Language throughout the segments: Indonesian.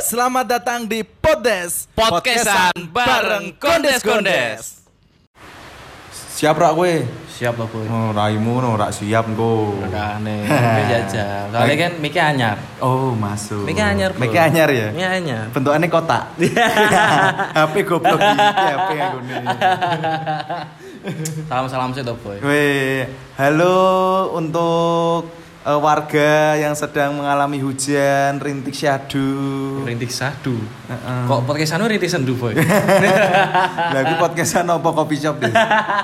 Selamat datang di Poddes Podcastan bareng Kondes-Kondes. Siap rak kowe? Siap lah boy. Oh, raimu no rak siap engko. Aneh. Wis jajal. Soalnya kan mic anyar. Oh, masuk. Mic anyar. Mic anyar ya? Mic anyar. Bentukannya kotak. HP goblok iki HP ngene. Salam-salam sih toh boy. Weh, halo untuk warga yang sedang mengalami hujan rintik syahdu. Rintik sadu. Kok podcast anu rintik sendu boy? Lagi podcastan apa coffee shop deh.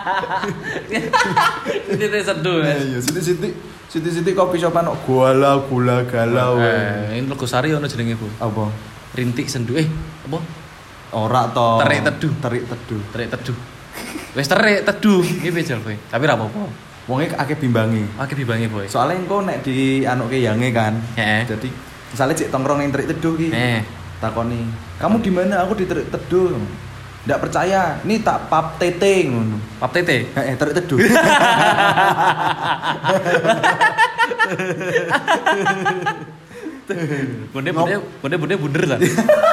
Rintik sendu. Iya, siti coffee shop ano gula galau. Ini Logosari ono jenenge boy. Apa? Rintik sendu. Apa? Ora to. Terik teduh. Wis terik teduh. Iki bejal boy. Tapi ora apa-apa. Wonge akeh bimbangi. Akeh bibange boy. Soalnya engko nek di anuke yange kan. Heeh. Jadi misalnya cek tongkrong ning Terik Teduh ki. Takoni, "Kamu di mana?" "Aku di Terik Teduh." Ndak percaya. "Nih tak pap tete ngono." Pap tete. Terik Teduh. Bunda bunder lah.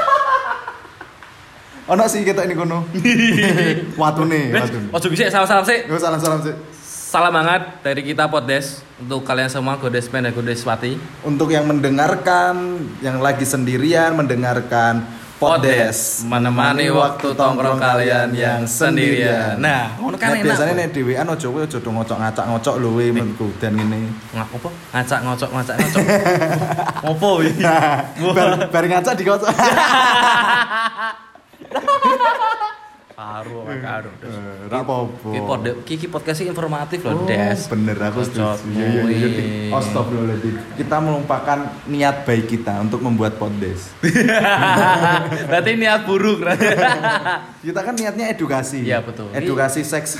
Ono sih ketok ini kono. Watune. Ojo bisa salam-salam sih. Yo salam sih. Salam hangat dari kita Poddes untuk kalian semua Godesmen dan Godeswati. Untuk yang mendengarkan, yang lagi sendirian mendengarkan Poddes, menemani waktu tongkrong kalian yang sendirian. Nah, ngono kan enak. Biasanya nek dhewean ojo ngocok-ngocok lho we menku dan ngene. Apa? Ngacak-ngocok. Opo iki? Bar ngacak dikocok. Karo. Ora apa-apa. Iki podcast informatif loh, Des. Bener aku setuju. Iya. Astagfirullahaladzim. Kita melupakan niat baik kita untuk membuat Poddes. Berarti niat buruk. Kita kan niatnya edukasi. Iya, betul. Edukasi seks.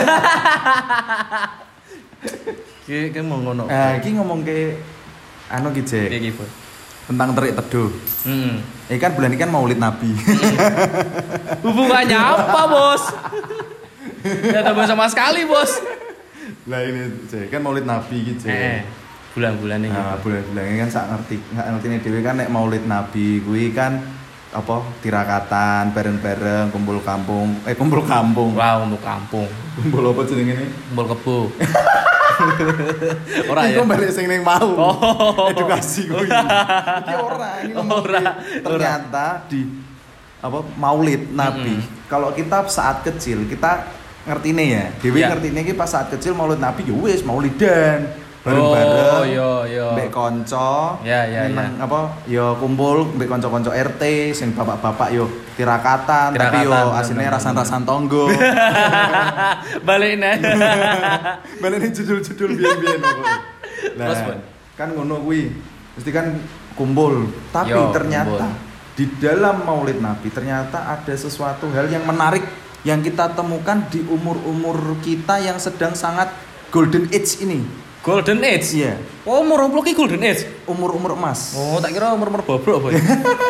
Iki mau ngono. Iki ngomong ke anu ki, Jek. Iki, Boy. Tentang Terik Teduh. Kan bulan ini kan Maulid Nabi. Hubungannya apa, Bos? Tidak ada sama sekali, Bos. Lah ini, Jek, kan Maulid Nabi gitu. Bulan-bulan ini. Nah, bulan-bulan ini kan sak ngerti dhewe kan nek Maulid Nabi kuwi kan apa tirakatan bareng-bareng kumpul kampung. Wah, untuk kampung. Kumpul apa jenenge ini? Kumpul kebo. Ora ya. Iku balik sing ning mau. Edukasi kuwi. Iki ini ngomong ternyata di apa Maulid Nabi. Kalau kita saat kecil kita ngertine ya. Dewe ngertine iki pas saat kecil Maulid Nabi ya wis maulidan. Bareng-bareng. Mbek kanca. Meneng apa ya kumpul mbek kanca-kanca RT sing bapak-bapak yo tirakatan tapi yo asline rasan-rasan tonggo. Balik judul-judul biyen-biyen kok. Nah, kan ngono kuwi. Mesti kan kumpul, tapi ternyata di dalam Maulid Nabi ternyata ada sesuatu hal yang menarik yang kita temukan di umur-umur kita yang sedang sangat golden age ini. Golden age? Iya. Oh, umur ki golden age? Umur emas. Oh, tak kira umur bobrok, Boy.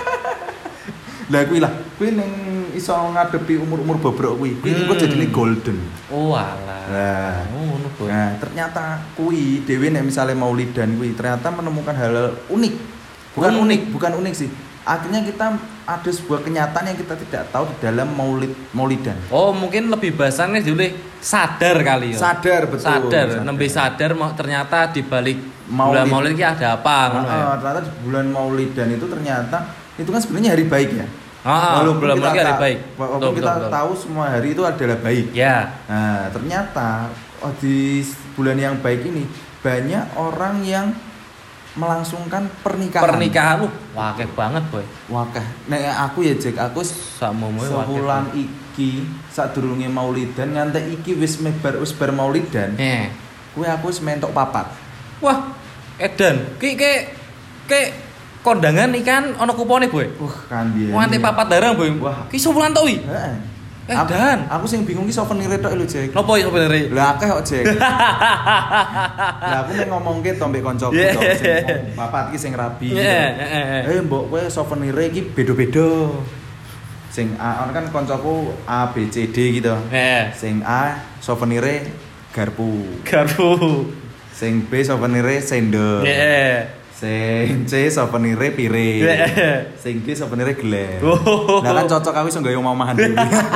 Lah kuwi ning iso ngadepi umur bobrok kuwi. Kuwi kok jadine golden. Oh, alah. Nah, ngono, Boy. Nah, ternyata kuwi dhewe nek misale maulidan kuwi ternyata menemukan hal unik. Bukan unik sih. Akhirnya kita ada sebuah kenyataan yang kita tidak tahu di dalam maulidan. Oh, mungkin lebih bahasanya dulu sadar kali ya. Sadar, betul. Nembe sadar ternyata di balik bulan Maulid ini ada apa ternyata di bulan Maulidan itu ternyata itu kan sebenarnya hari baik ya. Bulan Maulid hari baik. Walaupun kita tahu semua hari itu adalah baik. Ya. Nah, ternyata di bulan yang baik ini banyak orang yang melangsungkan pernikahan. Wakeh banget, Boy. Wakeh. Nek aku ya Jack, aku sebulan iki sadurunge Maulidan nganti iki wis bar Maulidan. Kuwi aku wis mentok papat. Wah, edan. Ki kondangan ikan ana kupone, Boy. Kan biyen. Nganti papat darang, Boy. Wah, ki sebulan tok iki. Heeh. Dan aku sing bingung ki souvenir tok lho, Jack. Nopo ya souvenir? Lah akeh kok, Jack. Lah aku ning ngomongke to mbek kancaku to sing papat iki sing rabi. Mbok kowe souvenir iki beda-beda. Sing A kan kancaku A B C D gitu. Sing A souvenire garpu. Sing B souvenire sendok. Sing C souvenire piring. Sing D souvenire gelas. Lah kan cocok aku iso nggawe omahan dhewe.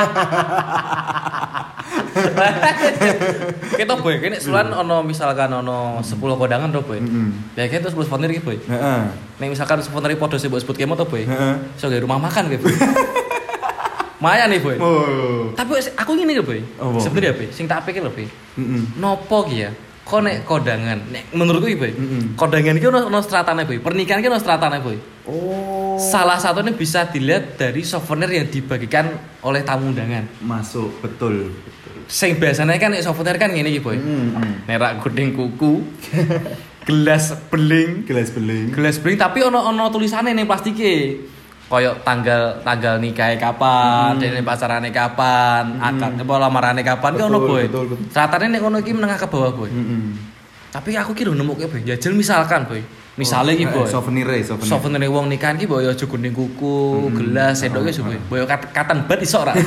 Kita boy, kene sulan ono misalkan ono 10 kondangan to boy. Ya kene terus 10 souvenir iki boy. Heeh. Nek misalkan souvenir padha sing mbok sebut kemo to boy. Iso nggawe rumah makan kowe boy. Maya nih boy. Tapi aku ngene lho boy. Sebenarnya boy, sing tak pikir lho boy. Nopo ki ya? Kok nek kondangan, nek menurutku iki boy. Kondangan iki ono stratane boy. Pernikahan iki ono stratane boy. Oh. Salah satunya bisa dilihat dari souvenir yang dibagikan oleh tamu undangan. Masuk, betul. Sing biasanya kan nek souvenir kan ngene iki boy. Nerak gudeng kuku. Gelas beling tapi ono tulisane ning plastike. Koyok tanggal nikahnya kapan, dene pacarane kapan, akad apa lamarane kapan ki ono boy. Stratane nek ngono iki menengah ke bawah boy. Tapi aku ki lho nemuke boy. Jajal misalkan boy. Misale iki boy. Souvenir wong nikahan ki boy aja gunding kuku, gelas, sendok ki boy. Boy katan bat iso ora.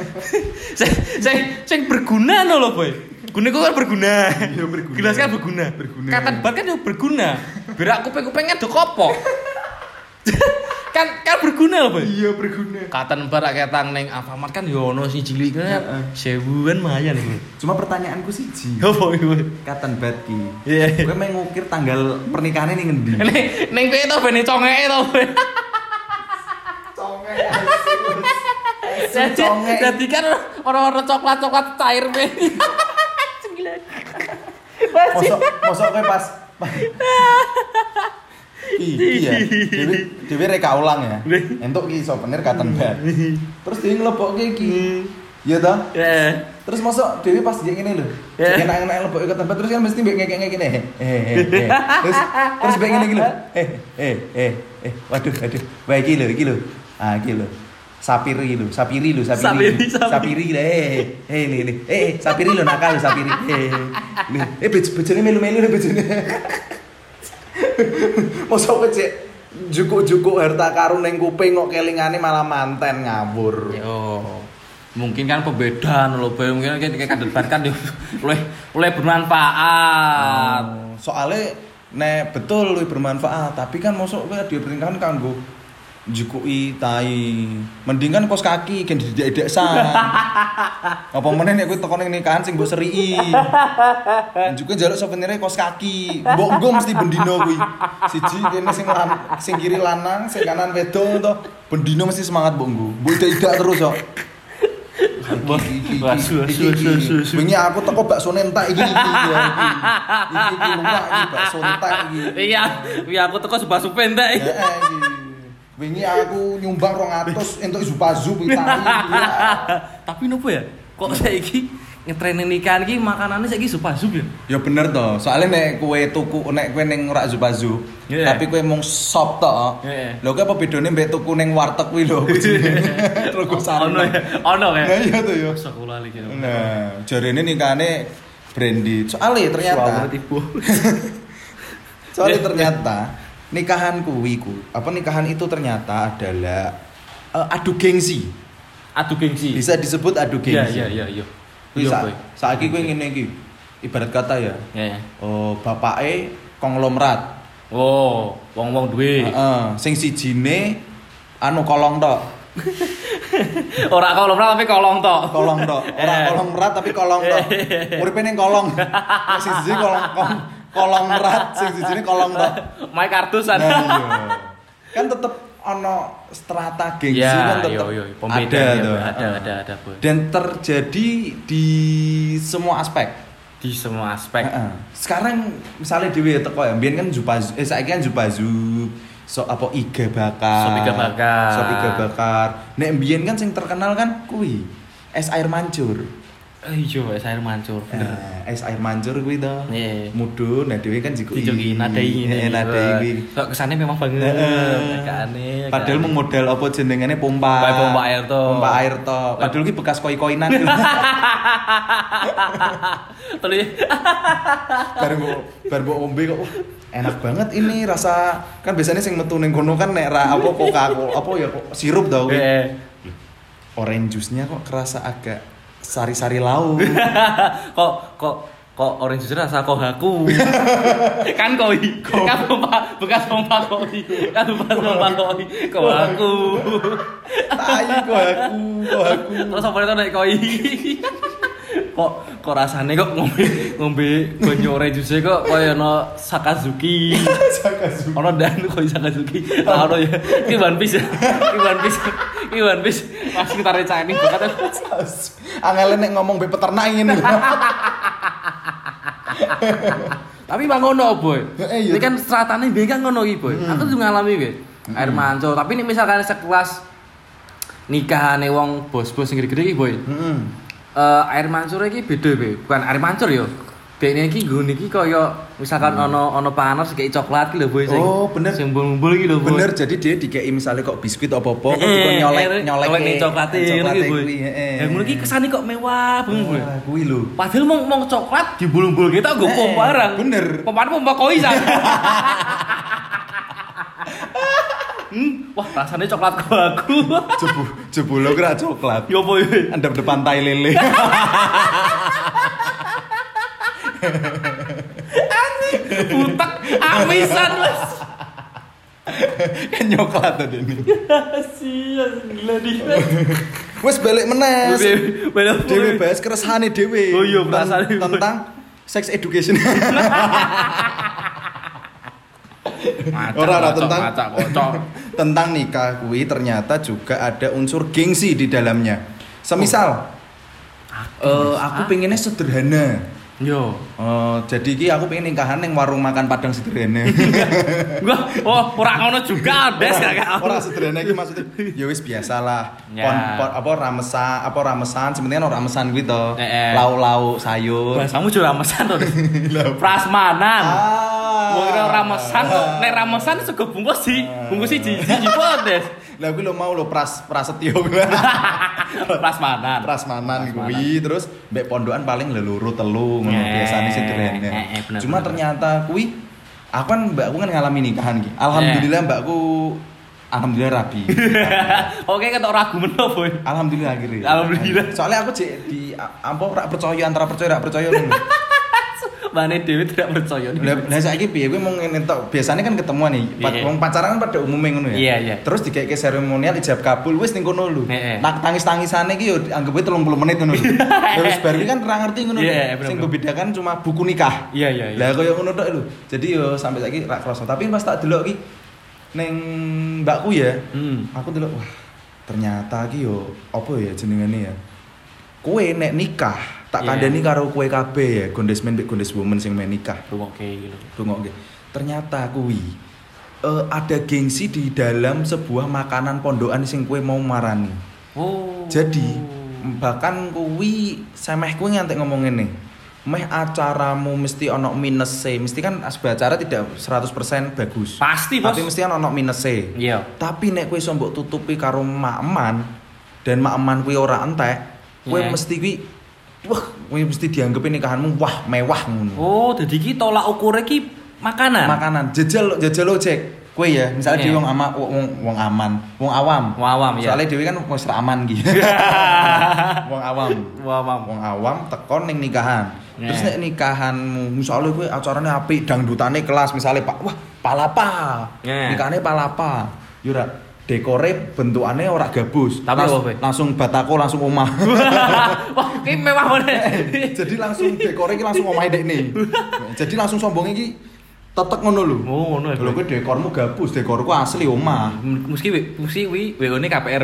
Sing berguna lho boy. Gunding kuku kan berguna. Gelas kan berguna. Katan bat kan yo berguna. Berak kuping-kupingnya do kopok. kan berguna loh boy. Iya berguna. Katan barak ketang neng Alfamart kan yo ono sing cilik kan 1000-an lumayan lho. Cuma pertanyaanku siji. Opo iki? Katan bat ki. Kowe mengukir tanggal pernikahannya ning ngendi? Ning kowe to bene congeke to. Congek. Jadi kan orang-orang coklat cair be. Mosok kowe pas iya, Dewi reka ulang ya. Entuk ki souvenir cotton bud. Terus Dewi nglebokke iki. Iya toh? Terus mosok Dewi pas dia ngene lho. Enak-enak lebokke cotton bud terus kan mesti mbek ngekek ngene. Terus mbek ngene iki lho. Waduh. Wah iki lho. Ah iki lho. Sapiri lho. Sapiri lho. Sapiri lho nakal lho sapiri. Bojone melu-melu lho bojone. Mosok kecek jukuk-jukuk harta karun ning kuping kok kelingane malah manten ngawur. Yo. Mungkin kan pembedaan lho, mungkin kan debat kan luwih bermanfaat. Soale nek betul luwih bermanfaat, tapi kan mosok kowe diperintahan kanggo jukuki tai. Mending kan kos kaki gen didek-dek san. Apa meneh nek kowe teko ning nikahan sing mbok seriki. Njuke njaluk souvenire kos kaki. Mbok nggo mesti bendino kuwi. Siji kene sing kiri lanang, sing kanan wedok to. Bendino mesti semangat mbok nggo. Mbok idak terus kok. Wingi aku teko bakso entek iki. Iki lumak iki bakso entek iki. Iya aku teko bakso entek. Heeh iki. Wingi aku nyumbang 200 entuk zupa-zup Itali. Tapi nopo ya? Kok saiki ngetren nikahan iki makanane saiki zupa-zup ya? Ya bener to. Soale nek kowe tuku nek kowe ning ora zupa-zup, tapi kowe mung sop tok. Lho kowe apa bedone mbek tuku ning warteg kuwi lho. Rego sarung. Ono ya. Nah iya to ya. Sekolah iki. Nah, jarene nikahane branded. Soale ternyata nikahan itu ternyata adalah adu gengsi. Bisa disebut adu gengsi. Iya. Saiki kowe ngene iki. Ibarat kata ya. Oh, bapake konglomerat. Oh, wong-wong duwe. Heeh, sing sijine kolong tok. Ora konglomerat tapi kolong tok. Ora konglomerat tapi kolong tok. Uripe ning kolong. Sing siji kolong merat, sing sijine kolong tok. Main kartusan. Nah, iya. Kan tetep ono strata gengsi kan tetep ada. Dan terjadi di semua aspek. Sekarang misalnya dhewe teko ya, mbiyen kan saiki kan zupa-zup, iga bakar. Nek mbiyen kan sing terkenal kan kuwi es air mancur. Iya, es air mancur. Es air mancur kuwi to. Mudun, nah dhewe kan dijoki nadai kuwi. Kok kesane memang banget. Nekane. Padahal mung modal apa jenengane pompa air to. Padahal ki bekas koi-koinan. Teli. Bar mbok ombe kok enak banget ini rasa. Kan biasanya sing metu ning kono kan nek ra apa Coca-Cola apa ya sirup to kuwi. Orange juice-nya kok kerasa agak sari-sari laut. kok kok orange juice rasa kohaku. Kan koi. Kan bekas pompa koi. Kan bekas pompa koi. Kohaku. Tai kohaku. Terus apa itu nek koi. Kok rasane kok ngombe banyu orange juice kok kaya ono Sakazuki. Ono danu koi Sakazuki. Ono ya. Ki One Piece. Ki One Piece. Mas kita recani bakat. Angel nek ngomong be peternak ngene. Tapi bang ngono boy, ini kan stratane biar kan ngono iki boy. Aku tuh ngalami gue air mancur. Tapi ini misalkan sekelas nikahane wong bos-bos sing gede-gede iki boy. Air mancur iki beda boy, bukan air mancur yo. Dekne iki nggone iki kaya misalkan ono panas dikei coklat iki lho boy sing. Oh, bener. Sing bumbul iki lho boy. Bener, jadi dia dikei misale kok biskuit apa-apa kok nyolek nih coklate iki boy. Ya ngono iki kesane kok mewah banget boy. Kuwi lho. Padahal mau coklat dibulung-bulung kita nggo pom barang. Bener. Pompa koi san. Wah, rasanya coklat aku. Jebul kira coklat. Yo boy. Andap depan tai lele. Butak amisan mas. Kan nyoklat tadi ini. Sia gila dia. Wes balik meneh. Dewe bahas keresahane dhewe. Oh iya, perasaan tentang sex education. Ora tentang nikah kuwi ternyata juga ada unsur gengsi di dalamnya. Semisal aku pengennya sederhana. Yo. Jadi iki aku pengen nikahan ning warung makan Padang sederhana. Ora ngono juga, Des gak. Ora sederhana iki maksudnya ya wis biasalah. Ramesan, sebenarnya ora ramesan kuwi to. Lauk-lauk sayur. Bahasamu juga ramesan to. Prasmanan. Wong ramesan kok nek ramesan sego bungkus siji kok, Des. Lah kuwi lho mau lho prasetyo. Prasmanan kuwi terus mbek pondokan paling leluru telu ngono biasane sederhana. Cuma ternyata kuwi aku kan mbakku kan ngalami nikahan iki. Alhamdulillah mbakku rabi. Oke ketok ragu meno, Boy. Alhamdulillah akhirnya. Alhamdulillah. Soalnya aku di ora percaya antara percaya ngono. Mane dhewe tidak percaya. Lah saiki piye kowe mung ngene tok. Biasane kan ketemuan nih. Wong pacaran kan pada umumnya ngono ya. Iya. Terus dikeke seremonial ijab kabul wis ning kono lho. Tangis-tangisane iki yo anggap 30 menit ngono lho. Terus bar kan ora ngerti ngono lho. Sing membedakan cuma buku nikah. Iya. Lah koyo ngono tok lho. Jadi yo sampai saiki ra kroso. Tapi pas tak delok iki ning mbakku ya. Aku delok wah ternyata iki yo apa ya jenengane ya. Kowe nek nikah tak kandhani karo kowe kabeh ya, gondesmen mbek gondeswoman sing men nikah. Rungokke. Ternyata kuwi ada gengsi di dalam sebuah makanan pondokan sing kowe mau marani. Oh. Jadi bahkan kuwi semeh kowe ngantek ngomong ngene. Meh acaramu mesti ono minus-e. Mesti kan sebuah acara tidak 100% bagus. Pasti, Bos. Tapi mesti kan ono minus-e. Iya. Tapi nek kowe iso mbok tutupi karo mak-eman dan mak-eman kuwi ora entek, kowe mesti kuwi wah, kowe mesti dianggep nikahanmu wah mewah ngono. Oh, dadi iki tolak ukure iki makanan. Makanan. Jajal ojek. Kowe ya, misalnya dhewe wong awam ya. Soale dhewe kan wis aman iki. Wong awam tekon ning nikahan. Terus nek nikahanmu misalnya kowe acarane apik dangdutane kelas misalnya Pak, wah palapa. Nikahane palapa. Yo ora dekore bentukane ora gabus. Tapi langsung batako langsung omah. Wah, iki mewah banget. Jadi langsung dekore iki langsung omahe dekne. Jadi langsung sombonge iki tetek ngono lho. Oh, ngono ya. Lho kowe dekormu gabus, dekorku asli omah. Mesti wi WO-ne KPR.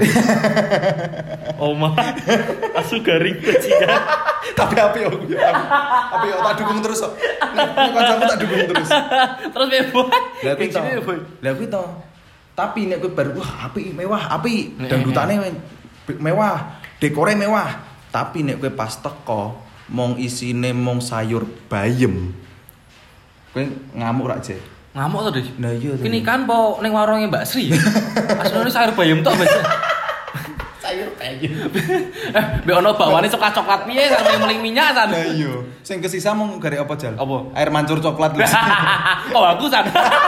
Omah. Asu garing bajingan. Tapi api yo tak dukung terus kok. Nek kancaku tak dukung terus. Terus piye, Boy? Lah kuwi to. Tapi nek kowe bar wah apik mewah, apik. Dangdutane mewah, dekore mewah. Tapi nek kowe pas teko mong isine mong sayur bayem. Kowe ngamuk rak, Jek? Ngamuk to, Des? Nah iya. Kini kan po ning warunge Mbak Sri. Asline sayur bayam tok, Mas. Sayur bayam. Mbek ono bakwane coklat-coklat piye sampe meling minyak san. Nah iya. Sing kesisa mung garek apa, Jal? Apa? Air mancur coklat lho. Oh, aku san.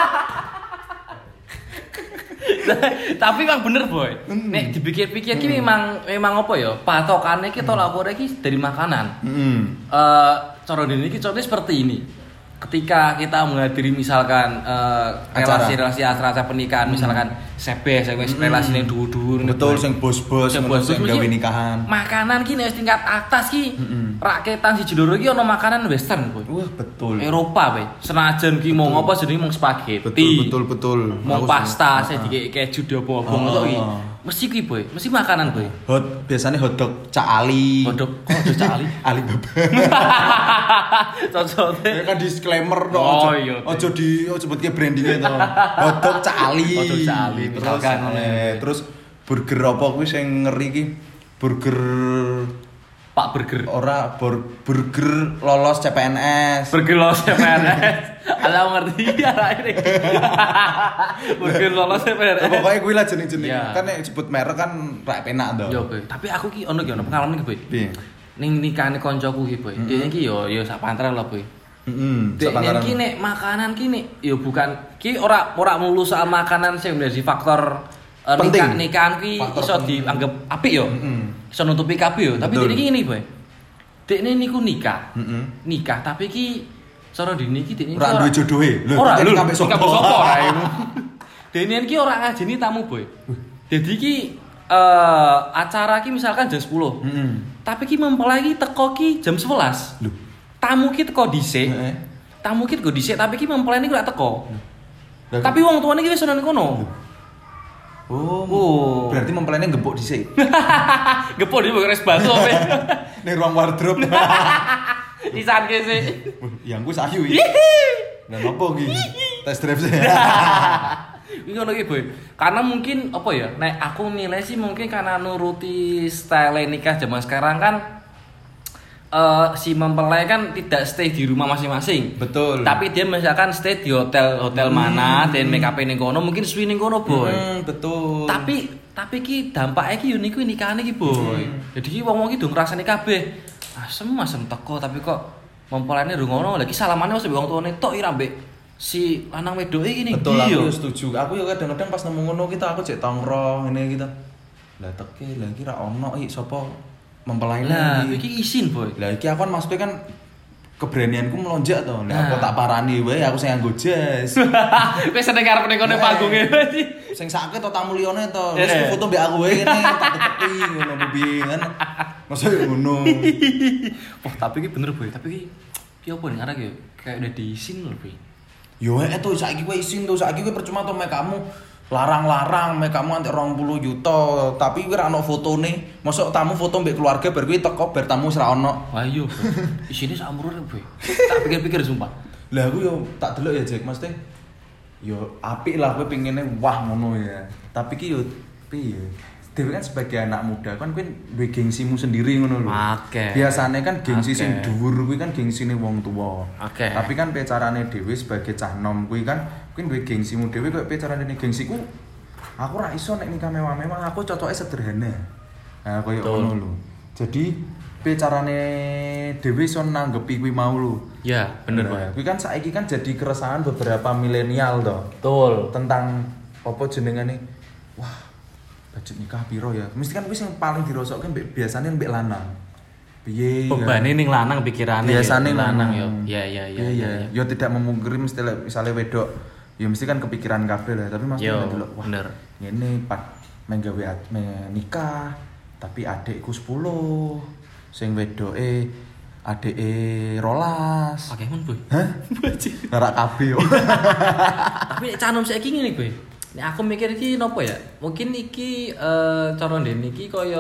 Tapi memang bener, Boy. Nek dipikir-pikir ki memang apa ya? Patokane ki tolak ukure ki dari makanan. cara dene iki contohnya seperti ini. Ketika kita menghadiri misalkan relasi acara pernikahan misalkan sebes relasi ning dhuwur-dhuwur betul sing bos-bos sing gawe nikahan makanan ki nek tingkat atas ki raketan siji loro ki ono makanan western wah betul Eropa we senajan ki mau ngopo jenenge mung spaghetti betul mau pasta saya dikek keju dobo ngono ki mesti ki boy mesti makanan boy biasanya hotdog Cak Ali hotdog kok Cak Ali Alibaba cocok kan disclaimer to ojo sebutke brandinge to hotdog Cak Ali terus burger apa kuwi sing ngeri ki burger Pak Burger ora burger lolos CPNS ala ngerti arek iki burger lolos CPNS pokoknya kuwi lah jeneng-jeneng kan nek sebut merek kan ra penak to yo tapi aku ki ono pengalaman ki boy ning nikahane koncoku ki boy dene ki yo sak pantaran lah boy dene ki nek makanan ki nek yo bukan ki ora melulu soal makanan sing menjadi faktor nikahan ki iso dianggap apik yo iso nutupi kabeh yo tapi dene ki ngene boy dekne niku nikah tapi ki cara dene iki dekne ora duwe jodohe lho ora kabeh sapa dene ki ora ngajeni tamu boy dadi ki acara ki misalkan jam 10 tapi ki mempelai ki teko ki jam 11 lho tamu ki teko dhisik tapi ki mempelai ki ora teko tapi wong tuane ki wis ana kono Oh, berarti mempelainya gempuk dhisik. Gempuk di beres batu apa? Ning ruang wardrobe. Isan ke sih. Yang gue sayu iki. Lah nopo iki? Test drive sih. Iki ngono iki, Boy. Karena mungkin apa ya? Nek aku nilai sih mungkin karena nuruti style nikah zaman sekarang kan si mempelai kan tidak stay di rumah masing-masing. Betul. Tapi dia misalkan stay di hotel mana, dan make up ning kono, mungkin suwi ning kono, Boy. Betul. Tapi ki dampake ki yo niku nikahane ki, Boy. Jadi ki wong-wong ki do ngrasani kabeh. Asem teko tapi kok mempelaine rungono lagi salamane wis wong tuane tok ira mbek si lanang wedoke iki ning. Betul, aku setuju. Aku yo kadang-kadang pas nemu ngono kita aku cek tongkrong ngene gitu. Lah teke lagi ra ono iki sapa mempelai lah iki isin boy lah iki aku kan maksudnya kan keberanianku melonjak to nek aku tak parani wae aku sing nganggo jas wis seneng arep ning kono panggunge sing sakit to tamu liyane to wis foto mbek aku wae ngene tak tetepi ngono piye kan masa ngono tapi iki bener boy tapi iki opo ning arek yo kayak udah diisin lho boy yo to saiki kowe isin to saiki kowe percuma to mek kamu larang-larang mek kamu antek 20 juta tapi kowe ra ono fotone mosok tamu foto mbek keluarga bar kuwi teko bar tamu wis ra ono wah iya isine sak amrune boy tak pikir-pikir sumpah lah aku yo tak delok ya Jack mesti yo apik lah kowe pengine wah ngono ya tapi ki yo piye dhewe kan sebagai anak muda kan kowe duwe gengsimu sendiri ngono lho biasane kan gengsi sing dhuwur kuwi kan gengsine wong tuwa tapi kan pecarane dhewe sebagai cah nom kuwi kan kowe duwe gengsimu dhewe kok pecarane gengsiku aku ra iso nek nikah mewah-mewah aku cocoke sederhana nah koyo ngono lho jadi pecarane dhewe iso nanggepi kuwi mau lho ya bener Pak kuwi kan saiki kan jadi keresahan beberapa milenial to betul tentang apa jenengane wah budget nikah piro ya mesti kan wis yang paling dirosokke mbek biasane mbek lanang piye bebane ning lanang pikirane biasane lanang yo ya yo tidak memungkiri mesti misale wedok ya mesti kan kepikiran kabeh lah tapi maksudnya delok wah bener ngene pat menggawe nikah tapi adekku 10 sing wedoke adeke 12 Pokemon boy hah ora kabeh yo tapi nek canom saiki ngene boy nek aku mikir iki nopo ya mungkin iki cara ndene iki kaya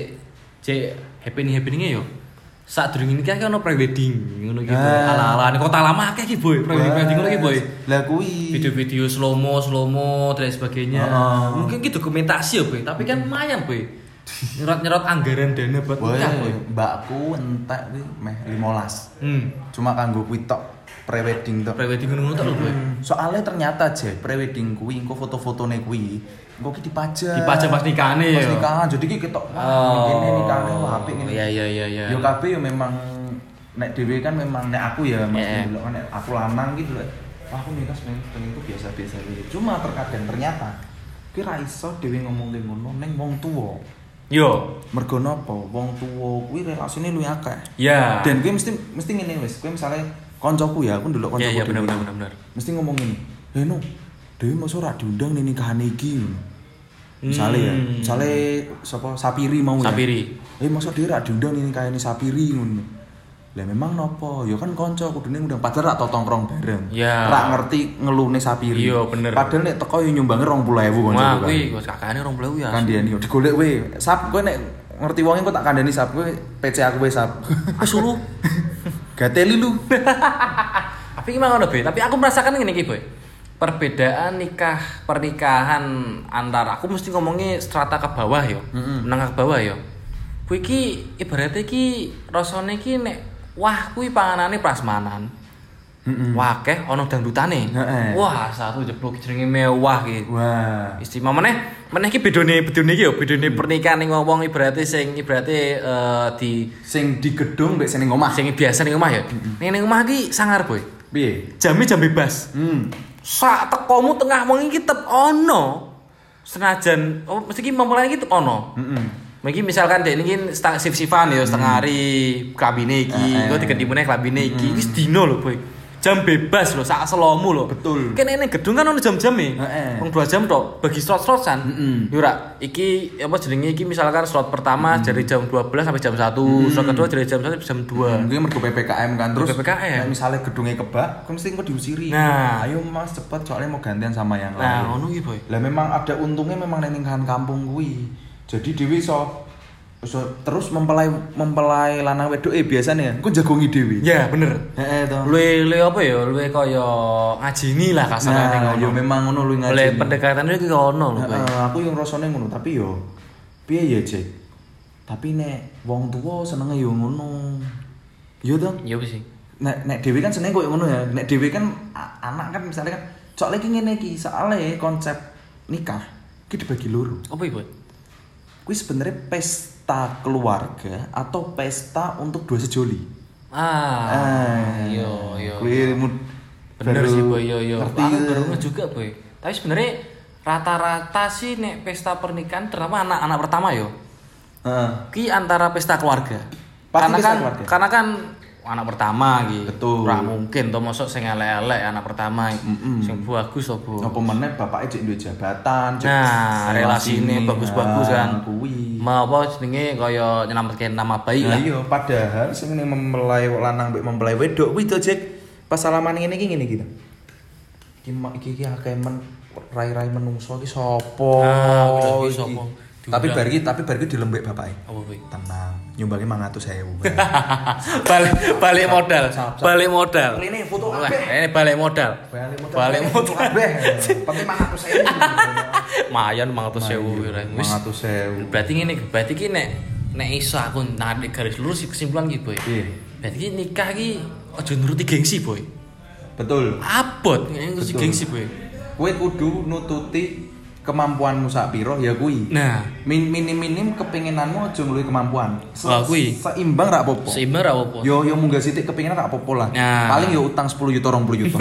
cek happening-happeninge yo sadurunge nikah kan ono pre-wedding ngono iki ala-alane kota lama akeh iki boy pre-wedding ngono iki boy lah kuwi video-video slow mo dan sebagainya mungkin ki dokumentasi ya boy tapi kan lumayan boy nyerot anggaran dana buat nikah boy mbakku entek kuwi meh 15 cuma kanggo kuwi tok pre-wedding tok pre-wedding ngono tok lho boy soalnya ternyata aja pre-wedding kuwi engko foto-fotone kuwi engko ki dipajang pas nikahane ya pas nikahan jadi ki ketok ngene nikahane wah apik ngene iya yo kabeh yo memang nek dhewe kan memang nek aku ya mesti delok nek aku lanang gitu lho wah aku nikah pengen ku biasa-biasa aja cuma terkadang ternyata ki ra iso dhewe ngomong ngono ning wong tuwa Yo. Mergo napa? Wong tuwa kuwi relasine luwih akeh. Ya. Dan kuwi mesti ngene wis. Kuwi misale kancaku ya, aku ndelok kancaku. Iya bener. Mesti ngomong ngene. No, Dewi mosok ora diundang ning nikahan iki. Misale sapa Sapiri mau ya. Sapiri. Mosok Dewi ora diundang ning nikahane Sapiri ngono. Lah memang nopo? Ya kan kanca kudune ngundang padahal rak tongkrong bareng. Ya. Rak ngerti ngelune Sapiri. Iya bener. Padahal nek teko yo nyumbange 20.000 kanca. Wah, kuwi wis kakane 20.000 ya. Kandhani yo digolek we. Sap kowe nek ngerti wonge kok tak kandhani Sap kowe PC aku wis Sap. Asulu. Gateli lu. Tapi gimana ngono, Be? Tapi aku merasakan ngene iki, Boy. Perbedaan pernikahan antara aku mesti ngomongnya strata ke bawah yo. Menengah ke bawah yo. Kuwi iki ibaratnya iki rasane iki nek wah kuwi panganane prasmanan. Wah akeh ana dangdutane. Wah satu jeblok jenenge mewah iki. Wah, istimewa meneh iki bedone iki yo, bedone pernikahan ning wong ibaratnya sing di sing di gedung mbek sing ning omah. Sing biasa ning omah ya. Ning omah iki sangar, Boy. Piye? Jam bebas. Sak tekomu tengah wengi iki tetep ono. Senajan mesti iki memulai iki tetep ono. Mungkin misalkan dek ini shift-shiftan ya setengah hari klambine iki, engko diganti meneh klambine iki. Wis dino lho, Boy. Jam bebas lho, sak selomu lho. Betul. Kene ning gedung kan ono jam-jame. Wong 2 jam tok, bagi slot-slotan. Yo ora, iki apa jenenge iki misalkan slot pertama dari jam 12 sampai jam 1, slot kedua dari jam 1 sampai jam 2. Mungkin mergo PPKM kan terus. PPKM. Nek misale gedunge kebak, kan mesti engko diusiri. Nah, ayo Mas cepet soalnya mau gantian sama yang lain. Nah, ngono iki, Boy. Lah memang ada untungnya memang ning nikahan kampung kuwi. Jadi dhewe iso terus mempelai lanang wedok biasanya engko jagongi dhewe. Ya, bener. Heeh to. Luwe apa ya? Luwe kaya ngajini lah kasarane ngono. Ya memang ngono luwe ngajini. Oleh pendekatan iki ono lho, Boy. Aku yang rasane ngono, tapi yo piye ya, Cek? Tapi nek wong tuwa senenge yo ngono. Iya to? Iya wis. Nek dhewe kan seneng koyo ngono ya. Nek dhewe kan anak kan misalnya kan cok lagi ngene iki, soalnya konsep nikah iki dibagi loro. Apa iki, Boy? Kuwi sebenarnya pesta keluarga atau pesta untuk dua sejoli. Iya. Kuwi bener sih, Boy. Iya. Aku baru juga, Boy. Tapi sebenarnya rata-rata sih nek pesta pernikahan terutama anak-anak pertama yo. Ki antara pesta keluarga. Karena kan anak pertama gitu. Betul. Ora mungkin to mosok sing elek-elek anak pertama. Sing bagus to, Bu. Apa meneh bapake cek duwe jabatan, cek relasine bagus-bagus kan. Kuwi. Mau apa jenenge kaya nyelametke nama baik lah. Iya, padahal sing mempelai lanang mbek mempelai wedok kuwi to, Cek. Pas salaman ngene iki ngene iki. Iki akeh rai-rai menungso iki sapa? Iki sapa? Tapi bar iki dilembek bapake. Apa kuwi? Tenang, nyumbangi 500.000. Balik modal. Ini foto kabeh. Ini balik modal. Kabeh. Penting 500.000. Mayan 500.000 wis. 500.000. Berarti ngene, berarti ki nek iso aku narik garis lurus kesimpulan ki, Boy. Berarti ki nikah ki aja nuruti gengsi, Boy. Betul. Abot nuruti gengsi, Boy. Kowe kudu nututi kemampuanmu sak piro ya kuwi. Nah, minim kepinginanmu aja ngluwi kemampuan. Kuwi seimbang ra apa-apa. Seimbang ra apa-apa. Yo munggah sithik kepinginan ra apa-apa lah. Nah. Paling yo utang 10 juta 20 juta.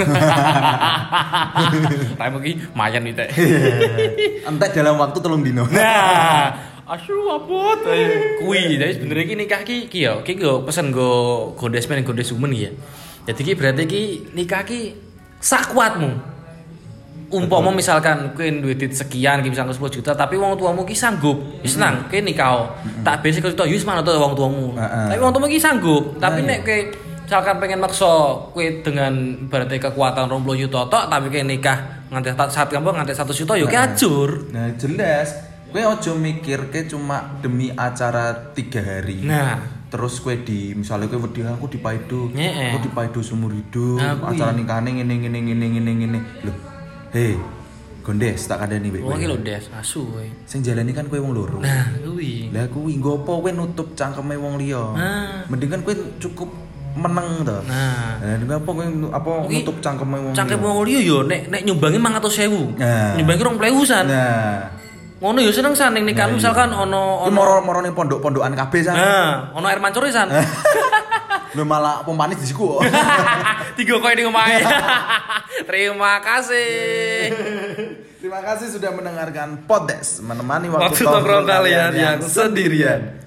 Tapi iki mayan iki. Entek dalam waktu 3 dino. Nah, asu abot. Kuwi jadi sebenarnya iki nikah ki yo pesen go Gondesmen Gondesumen ya. Jadi ki berarti ki nikah ki sak kuatmu. Umpama misalkan kowe duwe duit sekian iki misalkan 10 juta tapi wong tuamu ki sanggup, wis seneng kowe nikah. Tak besi kok yo wis mana to wong tuamu. Tapi wong tuamu ki sanggup. Tapi nek kowe misalkan pengen maksa kowe dengan berarti kekuatan 20 juta tok tapi kowe nikah nganti saat kamu nganti 1 juta yo ki ajur. Nah, jelas. Kowe aja mikirke cuma demi acara 3 hari. Nah, terus kowe misalnya kowe wedi aku dipaido seumur hidup, acara nikahane ngene. Lho, hei, Gondes tak kandhani mbek kowe. Wong iki lho, Des, asu kowe. Sing jalani kan kowe wong loro. Nah, kuwi. Lah kuwi nggo apa kowe nutup cangkeme wong liya. Mending kan kowe cukup meneng to. Nah, apa kowe nutup cangkeme wong liya. Cangkeme wong liya yo nek nyumbangi 500.000. Nyumbangi 20.000-an. Nah. Ngono yo seneng san ning nikah misalkan ono moro ning pondok-pondokan kabeh san. Nah, ono air mancur san. Lho malah pompanis disiku kok. Tiga koe ning omahe. Terima kasih. Terima kasih sudah mendengarkan podcast menemani waktu nongkrong kalian yang sendirian.